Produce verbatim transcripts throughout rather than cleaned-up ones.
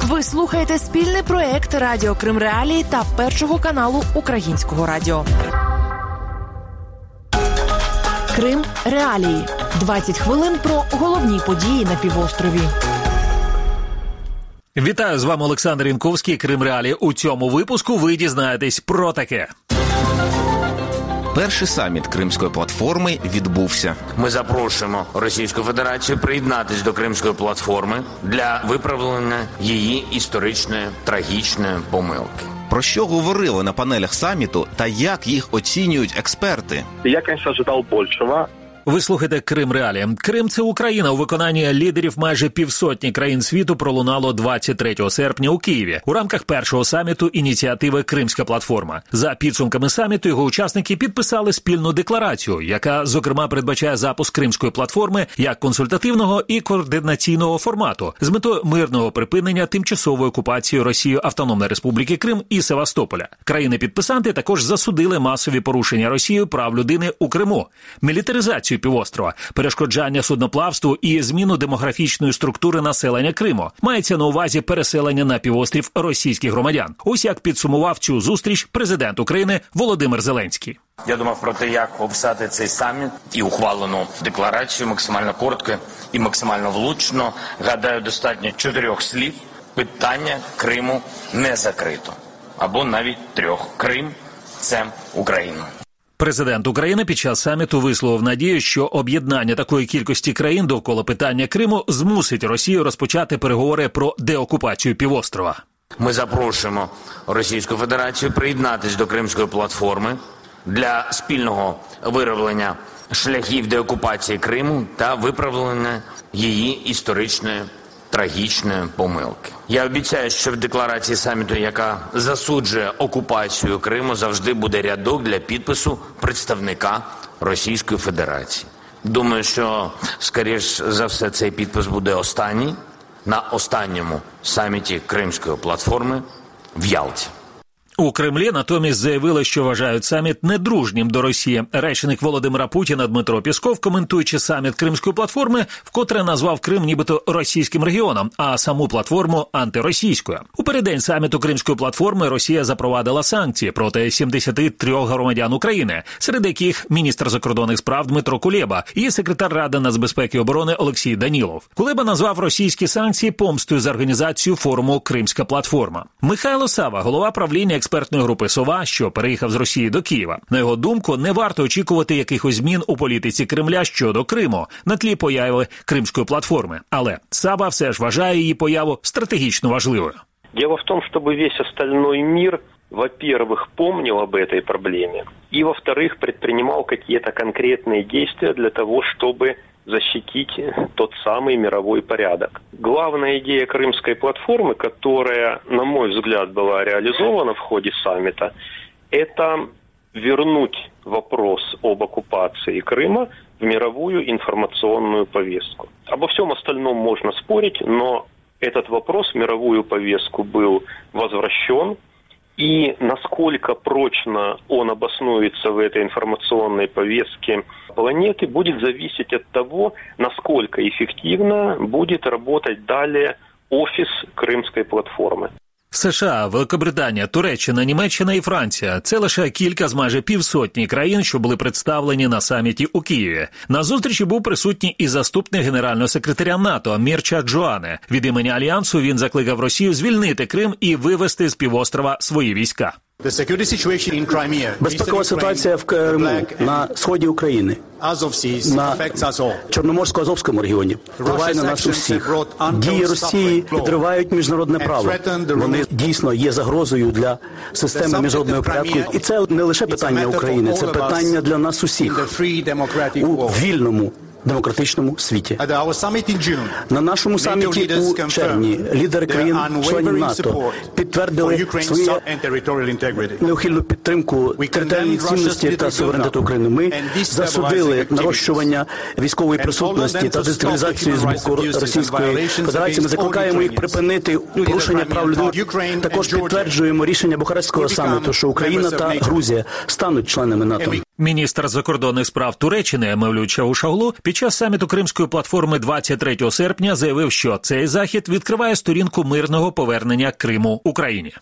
Ви слухаєте спільний проект Радіо Крим Реалії та Першого каналу Українського радіо. Крим Реалії. двадцять хвилин про головні події на півострові. Вітаю, з вами Олександр Янковський, Крим Реалії. У цьому випуску ви дізнаєтесь про таке. Перший саміт Кримської платформи відбувся. Ми запрошуємо Російську Федерацію приєднатись до Кримської платформи для виправлення її історичної трагічної помилки. Про що говорили на панелях саміту та як їх оцінюють експерти? Я, звісно, чекав більшого. Ви слухаєте Крим Реалії. Крим – це Україна. У виконанні лідерів майже півсотні країн світу пролунало двадцять третього серпня у Києві у рамках першого саміту ініціативи «Кримська платформа». За підсумками саміту його учасники підписали спільну декларацію, яка, зокрема, передбачає запуск Кримської платформи як консультативного і координаційного формату з метою мирного припинення тимчасової окупації Росією Автономної Республіки Крим і Севастополя. Країни-підписанти також засудили масові порушення Росією прав людини у Криму, мілітаризацію півострова, перешкоджання судноплавству і зміну демографічної структури населення Криму. Мається на увазі переселення на півострів російських громадян. Ось як підсумував цю зустріч президент України Володимир Зеленський. Я думав про те, як описати цей саміт і ухвалену декларацію максимально коротко і максимально влучно. Гадаю, достатньо чотирьох слів. Питання Криму не закрито. Або навіть трьох. Крим – це Україна. Президент України під час саміту висловив надію, що об'єднання такої кількості країн довкола питання Криму змусить Росію розпочати переговори про деокупацію півострова. Ми запрошуємо Російську Федерацію приєднатись до Кримської платформи для спільного вироблення шляхів деокупації Криму та виправлення її історичної трагічної помилки. Я обіцяю, що в декларації саміту, яка засуджує окупацію Криму, завжди буде рядок для підпису представника Російської Федерації. Думаю, що, скоріш за все, цей підпис буде останній на останньому саміті Кримської платформи в Ялті. У Кремлі натомість заявили, що вважають саміт недружнім до Росії. Речник Володимира Путіна Дмитро Пєсков, коментуючи саміт Кримської платформи, вкотре назвав Крим нібито російським регіоном, а саму платформу – антиросійською. У переддень саміту Кримської платформи Росія запровадила санкції проти сімдесяти трьох громадян України, серед яких міністр закордонних справ Дмитро Кулеба і секретар Ради нацбезпеки і оборони Олексій Данілов. Кулеба назвав російські санкції помстою за організацію форуму «Кримська платформа». Михайло Сава, голова правління експертної групи «Сова», що переїхав з Росії до Києва. На його думку, не варто очікувати якихось змін у політиці Кремля щодо Криму на тлі появи Кримської платформи. Але Сава все ж вважає її появу стратегічно важливою. Дело в том, чтобы весь остальной мир, во-первых, помнил об этой проблеме, и, во-вторых, предпринимал какие-то конкретные действия для того, чтобы защитить тот самый мировой порядок. Главная идея Крымской платформы, которая, на мой взгляд, была реализована в ходе саммита, это вернуть вопрос об оккупации Крыма в мировую информационную повестку. Обо всем остальном можно спорить, но этот вопрос в мировую повестку был возвращен. И насколько прочно он обоснуется в этой информационной повестке планеты, будет зависеть от того, насколько эффективно будет работать далее офис Кримської платформи. США, Великобританія, Туреччина, Німеччина і Франція – це лише кілька з майже півсотні країн, що були представлені на саміті у Києві. На зустрічі був присутній і заступник генерального секретаря НАТО Мірча Джоане. Від імені Альянсу він закликав Росію звільнити Крим і вивести з півострова свої війська. Безпекова ситуація в Криму, на сході України, на Чорноморсько-Азовському регіоні впливає на нас усіх. Дії Росії підривають міжнародне право. Вони дійсно є загрозою для системи міжнародного порядку. І це не лише питання України, це питання для нас усіх у вільному демократичному світі. На нашому саміті у червні лідери країн-членів НАТО підтвердили свою неухильну підтримку територіальної цінності та суверенітету України. Ми засудили нарощування військової присутності та дестабілізацію з боку Російської Федерації. Ми закликаємо їх припинити порушення прав людини. Також підтверджуємо рішення Бухарестського саміту, що Україна та Грузія стануть членами НАТО. Міністр закордонних справ Туреччини Мевлют Чавушоглу під час саміту Кримської платформи двадцять третього серпня заявив, що цей захід відкриває сторінку мирного повернення Криму Україні.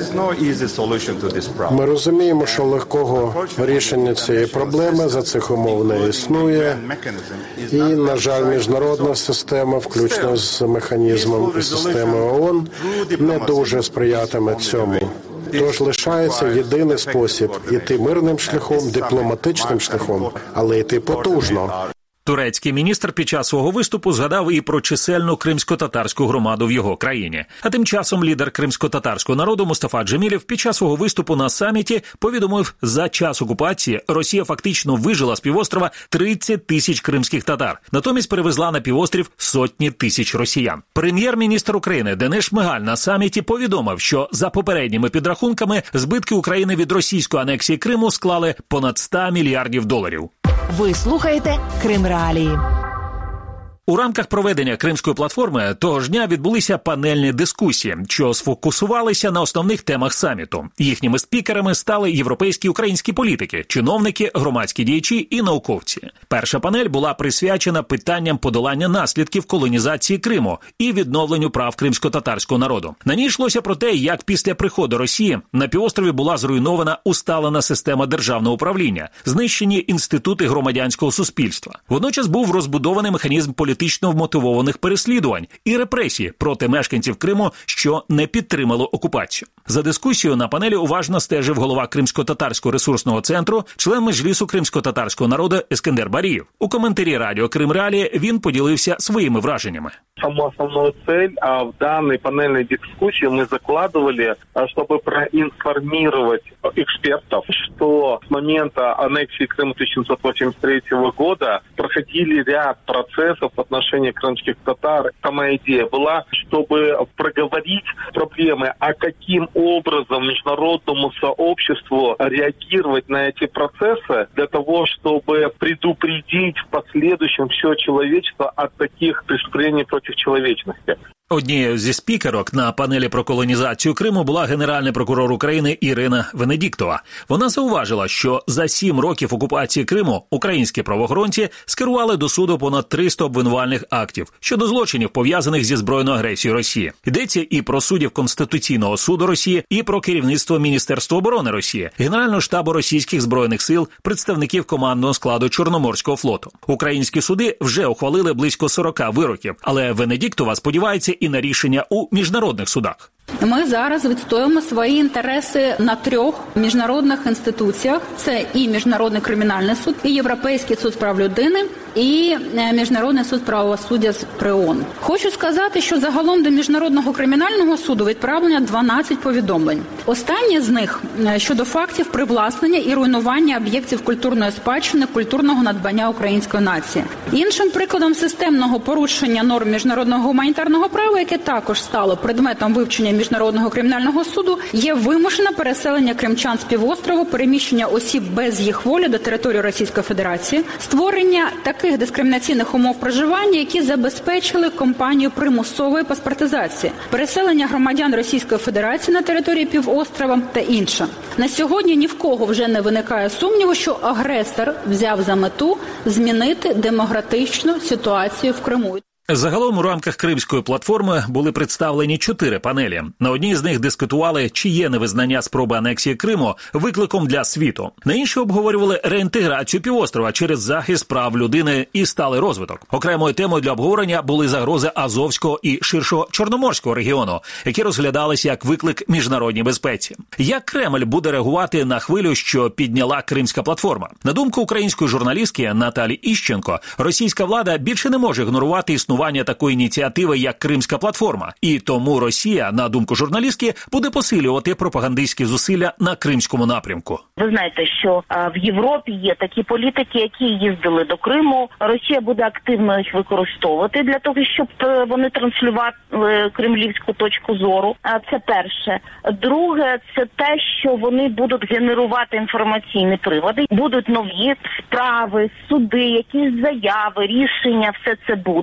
Ми розуміємо, що легкого рішення цієї проблеми за цих умов не існує. І, на жаль, міжнародна система, включно з механізмом і системою ООН, не дуже сприятиме цьому. Тож лишається єдиний спосіб – іти мирним шляхом, дипломатичним шляхом, але йти потужно. Турецький міністр під час свого виступу згадав і про чисельну кримсько-татарську громаду в його країні. А тим часом лідер кримсько-татарського народу Мустафа Джемілєв під час свого виступу на саміті повідомив, за час окупації Росія фактично вижила з півострова тридцять тисяч кримських татар. Натомість перевезла на півострів сотні тисяч росіян. Прем'єр-міністр України Денис Шмигаль на саміті повідомив, що за попередніми підрахунками збитки України від російської анексії Криму склали понад сто мільярдів доларів. Ви слухаєте Крим Реалії. У рамках проведення Кримської платформи того ж дня відбулися панельні дискусії, що сфокусувалися на основних темах саміту. Їхніми спікерами стали європейські і українські політики, чиновники, громадські діячі і науковці. Перша панель була присвячена питанням подолання наслідків колонізації Криму і відновленню прав кримсько-татарського народу. На ній йшлося про те, як після приходу Росії на півострові була зруйнована усталена система державного управління, знищені інститути громадянського суспільства. Водночас був розбудований механізм політичного політично вмотивованих переслідувань і репресій проти мешканців Криму, що не підтримало окупацію. За дискусією на панелі уважно стежив голова Кримсько-татарського ресурсного центру, член Меджлісу кримсько-татарського народу Ескендер Барієв. У коментарі радіо Крим Реалії він поділився своїми враженнями. Саму основную цель а в данной панельной дискуссии мы закладывали, чтобы проинформировать экспертов, что с момента аннексии Крыма тысяча девятьсот восемьдесят третьего года проходили ряд процессов в отношении крымских татар. Сама идея была, чтобы проговорить проблемы, а каким образом международному сообществу реагировать на эти процессы для того, чтобы предупредить в последующем все человечество от таких преступлений против человечности. Однією зі спікерок на панелі про колонізацію Криму була генеральний прокурор України Ірина Венедіктова. Вона зауважила, що за сім років окупації Криму українські правоохоронці скерували до суду понад триста обвинувальних актів щодо злочинів, пов'язаних зі збройною агресією Росії. Йдеться і про суддів Конституційного суду Росії, і про керівництво Міністерства оборони Росії, Генерального штабу російських збройних сил, представників командного складу Чорноморського флоту. Українські суди вже ухвалили близько сорок вироків, але Венедіктова сподівається і на рішення у міжнародних судах. Ми зараз відстоюємо свої інтереси на трьох міжнародних інституціях. Це і Міжнародний кримінальний суд, і Європейський суд з прав людини, і Міжнародний суд правосуддя при ООН. Хочу сказати, що загалом до Міжнародного кримінального суду відправлено дванадцять повідомлень. Останнє з них щодо фактів привласнення і руйнування об'єктів культурної спадщини, культурного надбання української нації. Іншим прикладом системного порушення норм міжнародного гуманітарного права, яке також стало предметом вивчення Міжнародного кримінального суду, є вимушене переселення кримчан з півострову, переміщення осіб без їх волі до території Російської Федерації, створення таких дискримінаційних умов проживання, які забезпечили кампанію примусової паспортизації, переселення громадян Російської Федерації на території півострова та інше. На сьогодні ні в кого вже не виникає сумніву, що агресор взяв за мету змінити демократичну ситуацію в Криму. Загалом у рамках Кримської платформи були представлені чотири панелі. На одній з них дискутували, чи є невизнання спроби анексії Криму викликом для світу. На іншій обговорювали реінтеграцію півострова через захист прав людини і сталий розвиток. Окремою темою для обговорення були загрози Азовського і ширшого Чорноморського регіону, які розглядалися як виклик міжнародній безпеці. Як Кремль буде реагувати на хвилю, що підняла Кримська платформа? На думку української журналістки Наталі Іщенко, російська влада більше не може ігнорувати існування такої ініціативи, як Кримська платформа. І тому Росія, на думку журналістки, буде посилювати пропагандистські зусилля на Кримському напрямку. Ви знаєте, що а, в Європі є такі політики, які їздили до Криму. Росія буде активно їх використовувати для того, щоб вони транслювали кремлівську точку зору. А це перше. Друге, це те, що вони будуть генерувати інформаційні приводи. Будуть нові справи, суди, якісь заяви, рішення, все це буде.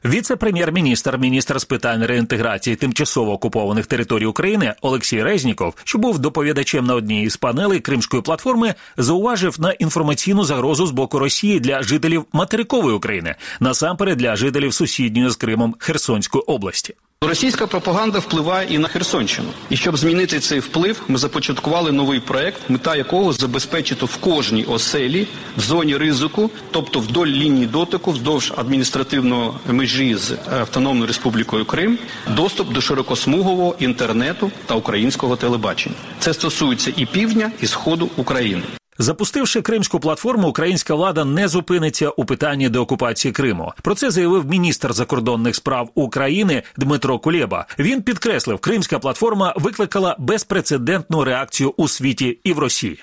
Віце-прем'єр-міністр, міністр з питань реінтеграції тимчасово окупованих територій України Олексій Резніков, що був доповідачем на одній із панелей Кримської платформи, зауважив на інформаційну загрозу з боку Росії для жителів материкової України, насамперед для жителів сусідньої з Кримом Херсонської області. Російська пропаганда впливає і на Херсонщину. І щоб змінити цей вплив, ми започаткували новий проект, мета якого забезпечити в кожній оселі в зоні ризику, тобто вдоль лінії дотику, вздовж адміністративної межі з Автономною Республікою Крим, доступ до широкосмугового інтернету та українського телебачення. Це стосується і півдня, і сходу України. Запустивши Кримську платформу, українська влада не зупиниться у питанні деокупації Криму. Про це заявив міністр закордонних справ України Дмитро Кулеба. Він підкреслив, Кримська платформа викликала безпрецедентну реакцію у світі і в Росії.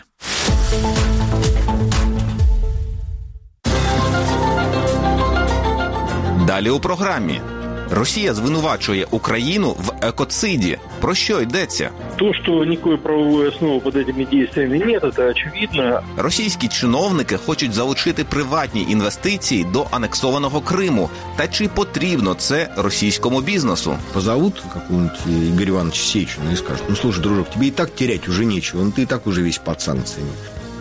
Далі у програмі. Росія звинувачує Україну в екоциді. Про що йдеться? То, что никакой правовой основы под этими действиями нет, это очевидно. Російські чиновники хочуть залучити приватні інвестиції до анексованого Криму. Та чи потрібно це російському бізнесу? Позовут какого-нибудь Игоря Ивановича Сечина и скажут: ну, слушай, дружок, тебе и так терять уже нечего, ну, ты и так уже весь под санкциями.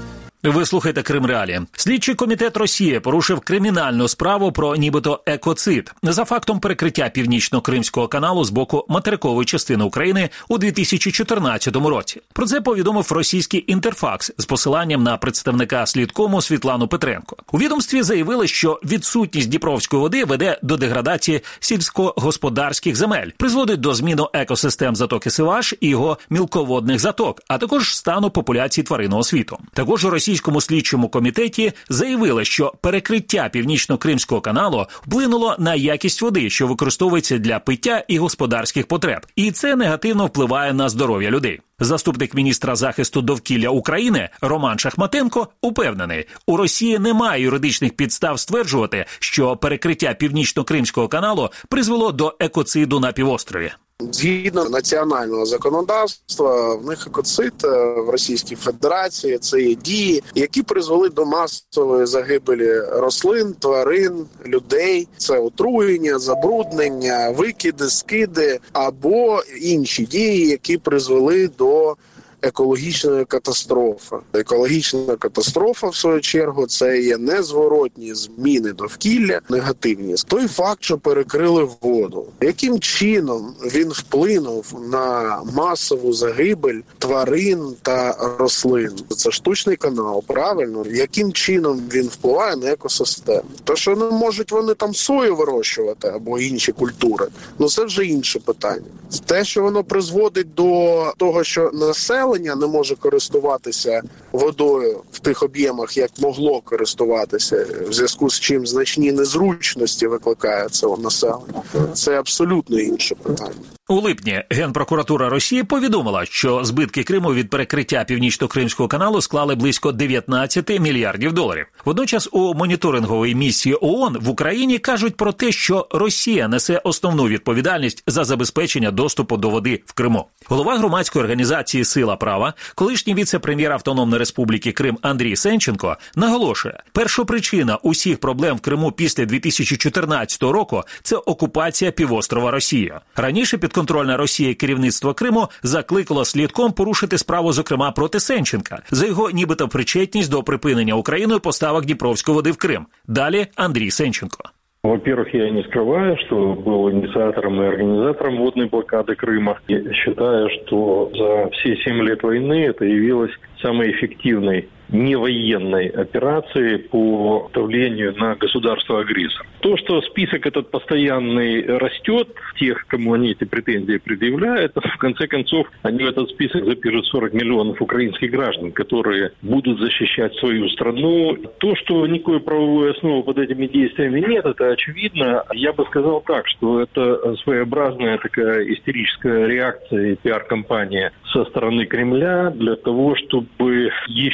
Ви слухаєте Крим Реалії. Слідчий комітет Росії порушив кримінальну справу про нібито екоцид за фактом перекриття Північно-Кримського каналу з боку материкової частини України у дві тисячі чотирнадцятому році. Про це повідомив російський Інтерфакс з посиланням на представника слідкому Світлану Петренко. У відомстві заявили, що відсутність Дніпровської води веде до деградації сільськогосподарських земель, призводить до зміни екосистем затоки Сиваш і його мілководних заток, а також стану популяції тваринного світу. Також у російському слідчому комітеті заявили, що перекриття Північно-Кримського каналу вплинуло на якість води, що використовується для пиття і господарських потреб. І це негативно впливає на здоров'я людей. Заступник міністра захисту довкілля України Роман Шахматенко упевнений, у Росії немає юридичних підстав стверджувати, що перекриття Північно-Кримського каналу призвело до екоциду на півострові. Згідно національного законодавства, в них екоцид в Російській Федерації – це є дії, які призвели до масової загибелі рослин, тварин, людей. Це отруєння, забруднення, викиди, скиди або інші дії, які призвели до екологічної катастрофи. Екологічна катастрофа, в свою чергу, це є незворотні зміни довкілля, негативні. Той факт, що перекрили воду. Яким чином він вплинув на масову загибель тварин та рослин? Це штучний канал, правильно? Яким чином він впливає на екосистему? То, що не можуть вони там сою вирощувати або інші культури, ну це вже інше питання. Те, що воно призводить до того, що населення не може користуватися водою в тих об'ємах, як могло користуватися, в зв'язку з чим значні незручності викликає це у населення. Це абсолютно інше питання. У липні Генпрокуратура Росії повідомила, що збитки Криму від перекриття Північно-Кримського каналу склали близько дев'ятнадцять мільярдів доларів. Водночас у моніторинговій місії ООН в Україні кажуть про те, що Росія несе основну відповідальність за забезпечення доступу до води в Криму. Голова громадської організації «Сила права», колишній віце-прем'єр Автономної Республіки Крим Андрій Сенченко наголошує, першопричина усіх проблем в Криму після дві тисячі чотирнадцятого року – це окупація півострова Росією. Раніше під підконтрольне Росії керівництво Криму закликало слідком порушити справу, зокрема, проти Сенченка за його нібито причетність до припинення Україною поставок Дніпровської води в Крим. Далі Андрій Сенченко. Во-первых, я не скрываю, что был инициатором и организатором водной блокады Крыма. Я считаю, что за все семь лет войны это явилось самой эффективной невоенной операции по давлению на государство-агрессор. То, что список этот постоянный растет, тех, кому они эти претензии предъявляют, в конце концов, они в этот список запишут сорок миллионов украинских граждан, которые будут защищать свою страну. То, что никакой правовой основы под этими действиями нет, это очевидно. Я бы сказал так, что это своеобразная такая истерическая реакция и пиар-компания со стороны Кремля для того, чтобы еще раз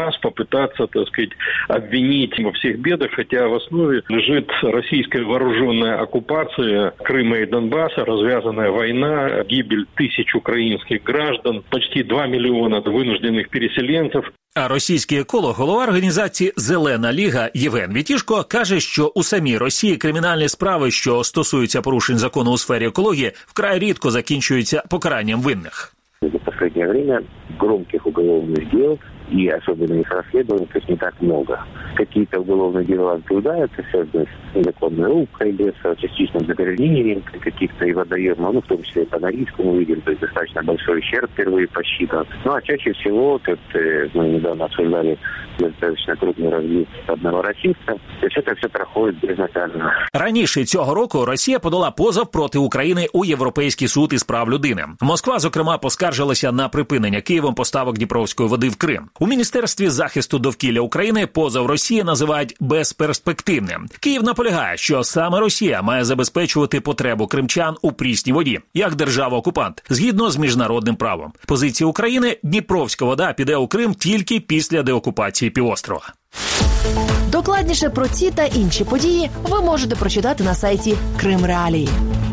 раз попытаться, так сказать, обвинить во всех бедах, хотя в основе лежит российская вооруженная оккупация Крыма и Донбасса, развязанная война, гибель тысяч украинских граждан, почти два миллиона вынужденных переселенцев. А російський еколог, голова організації «Зелена Ліга» Євген Вітішко каже, що у самій Росії кримінальні справи, що стосуються порушень закону у сфері екології, вкрай рідко закінчуються покаранням винних. За последнее время громких уголовных дел и особенно их расследований, то есть не так много. Какие-то уголовные дела возбуждаются, связанные с незаконной рубкой леса, частично загрязнением каких-то и водоемов, ну, в том числе и по Норильску мы видим, то есть достаточно большой ущерб впервые посчитан. Ну, а чаще всего, как мы недавно обсуждали достаточно крупный разлив одного российца, то есть это все проходит безнаказанно. Раніше цього року Росія подала позов проти України у Європейський суд із прав людини. Москва, зокрема, поскаржилася на припинення Києвом поставок дніпровської води в Крим. У Міністерстві захисту довкілля України позов Росії називають безперспективним. Київ наполягає, що саме Росія має забезпечувати потребу кримчан у прісній воді, як держава-окупант, згідно з міжнародним правом. Позиція України – дніпровська вода піде у Крим тільки після деокупації півострова. Докладніше про ці та інші події ви можете прочитати на сайті Крим Реалії.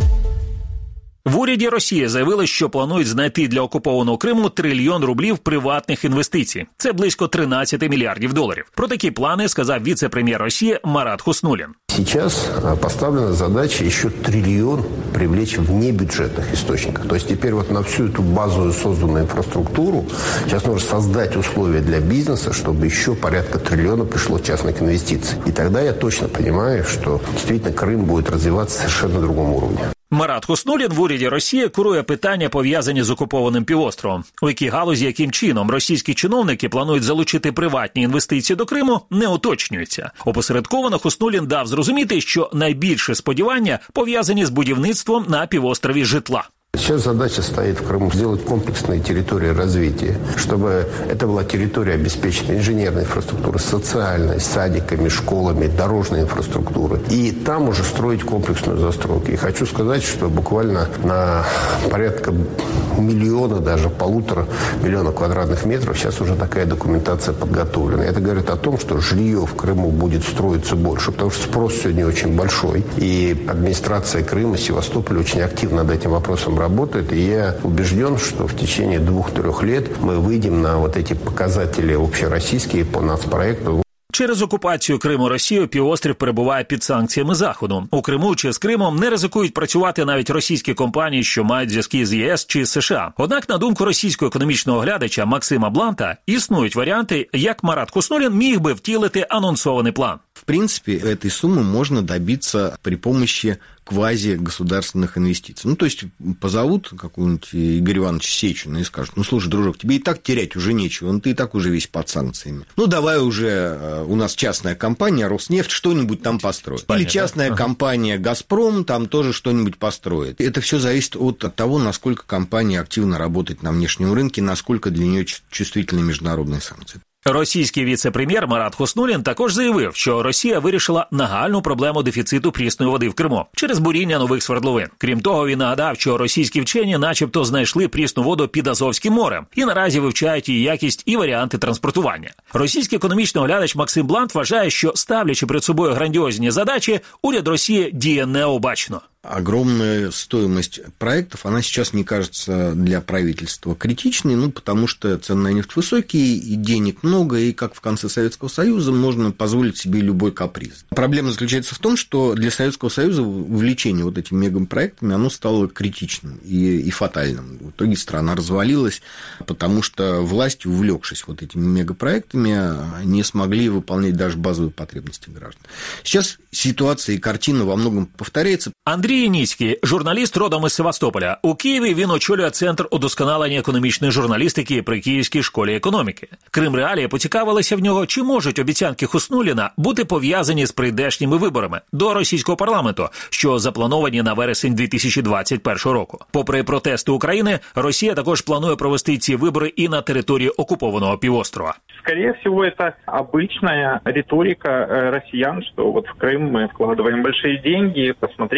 В уряді Росії заявили, що планують знайти для окупованого Криму трильйон рублів приватних інвестицій. Це близько тринадцять мільярдів доларів. Про такі плани сказав віце-прем'єр Росії Марат Хуснуллин. Сейчас поставлена задача еще триллион привлечь в небюджетных источниках. То есть теперь вот на всю эту базовую созданную инфраструктуру сейчас нужно создать условия для бизнеса, чтобы еще порядка триллиона пришло частных инвестиций. И тогда я точно понимаю, что действительно Крым будет развиваться совершенно на другом уровне. Марат Хуснуллин в уряді Росії курує питання, пов'язані з окупованим півостровом. У якій галузі, яким чином російські чиновники планують залучити приватні інвестиції до Криму, не уточнюється. Опосередковано Хуснуллин дав зрозуміти, що найбільше сподівання пов'язані з будівництвом на півострові житла. Сейчас задача стоит в Крыму сделать комплексные территории развития, чтобы это была территория обеспечена инженерной инфраструктурой, социальной, садиками, школами, дорожной инфраструктурой. И там уже строить комплексную застройку. И хочу сказать, что буквально на порядка миллиона, даже полутора миллиона квадратных метров сейчас уже такая документация подготовлена. Это говорит о том, что жилье в Крыму будет строиться больше, потому что спрос сегодня очень большой. И администрация Крыма, Севастополя очень активно над этим вопросом работает, и я убежден, что в течение двух-трех лет мы выйдем на вот эти показатели общероссийские по нацпроекту. Через окупацію Криму Росією півострів перебуває під санкціями Заходу. У Криму чи з Кримом не ризикують працювати навіть російські компанії, що мають зв'язки з ЄС чи США. Однак, на думку російського економічного оглядача Максима Бланта, існують варіанти, як Марат Хуснуллин міг би втілити анонсований план. В принципе, этой суммы можно добиться при помощи квази-государственных инвестиций. Ну, то есть, позовут какого-нибудь Игоря Ивановича Сечина и скажут: ну, слушай, дружок, тебе и так терять уже нечего, ну, ты и так уже весь под санкциями. Ну, давай уже у нас частная компания Роснефть что-нибудь там построит. Понятно. Или частная ага. компания Газпром там тоже что-нибудь построит. Это все зависит от, от того, насколько компания активно работает на внешнем рынке, насколько для нее чувствительны международные санкции. Російський віце-прем'єр Марат Хуснуллин також заявив, що Росія вирішила нагальну проблему дефіциту прісної води в Криму через буріння нових свердловин. Крім того, він нагадав, що російські вчені начебто знайшли прісну воду під Азовським морем і наразі вивчають її якість і варіанти транспортування. Російський економічний оглядач Максим Блант вважає, що, ставлячи перед собою грандіозні задачі, уряд Росії діє необачно. Огромная стоимость проектов, она сейчас не кажется для правительства критичной, ну, потому что цены на нефть высокие, и денег много, и, как в конце Советского Союза, можно позволить себе любой каприз. Проблема заключается в том, что для Советского Союза увлечение вот этими мегапроектами, оно стало критичным и, и фатальным. В итоге страна развалилась, потому что власти, увлекшись вот этими мегапроектами, не смогли выполнять даже базовые потребности граждан. Сейчас ситуация и картина во многом повторяется. Андрій Яніцький, журналіст родом із Севастополя. У Києві він очолює Центр удосконалення економічної журналістики при Київській школі економіки. Крим Реалії поцікавилися в нього, чи можуть обіцянки Хуснуллина бути пов'язані з прийдешніми виборами до російського парламенту, що заплановані на вересень дві тисячі двадцять першого року. Попри протести України, Росія також планує провести ці вибори і на території окупованого півострова. Скорее всего, это обычная риторика россиян, что вот в Крым мы вкладываем большие деньги, посмотрите,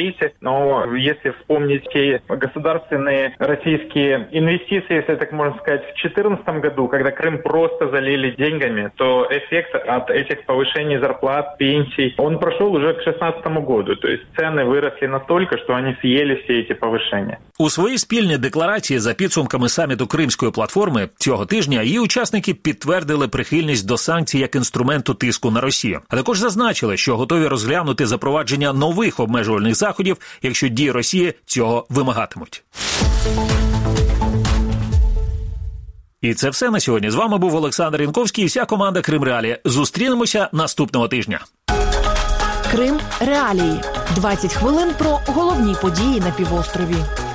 Но если вспомнить те государственные российские инвестиции, если так можно сказать, в две тысячи четырнадцатом году, когда Крым просто залили деньгами, то эффект от этих повышений зарплат, пенсий, он прошел уже к две тысячи шестнадцатому году. То есть цены выросли настолько, что они съели все эти повышения. У своїй спільній декларації за підсумками саміту Кримської платформи цього тижня її учасники підтвердили прихильність до санкцій як інструменту тиску на Росію. А також зазначили, що готові розглянути запровадження нових обмежувальних заходів, якщо дії Росії цього вимагатимуть. І це все на сьогодні. З вами був Олександр Янковський і вся команда Крим Реалії. Зустрінемося наступного тижня. Крим Реалії. двадцять хвилин про головні події на півострові.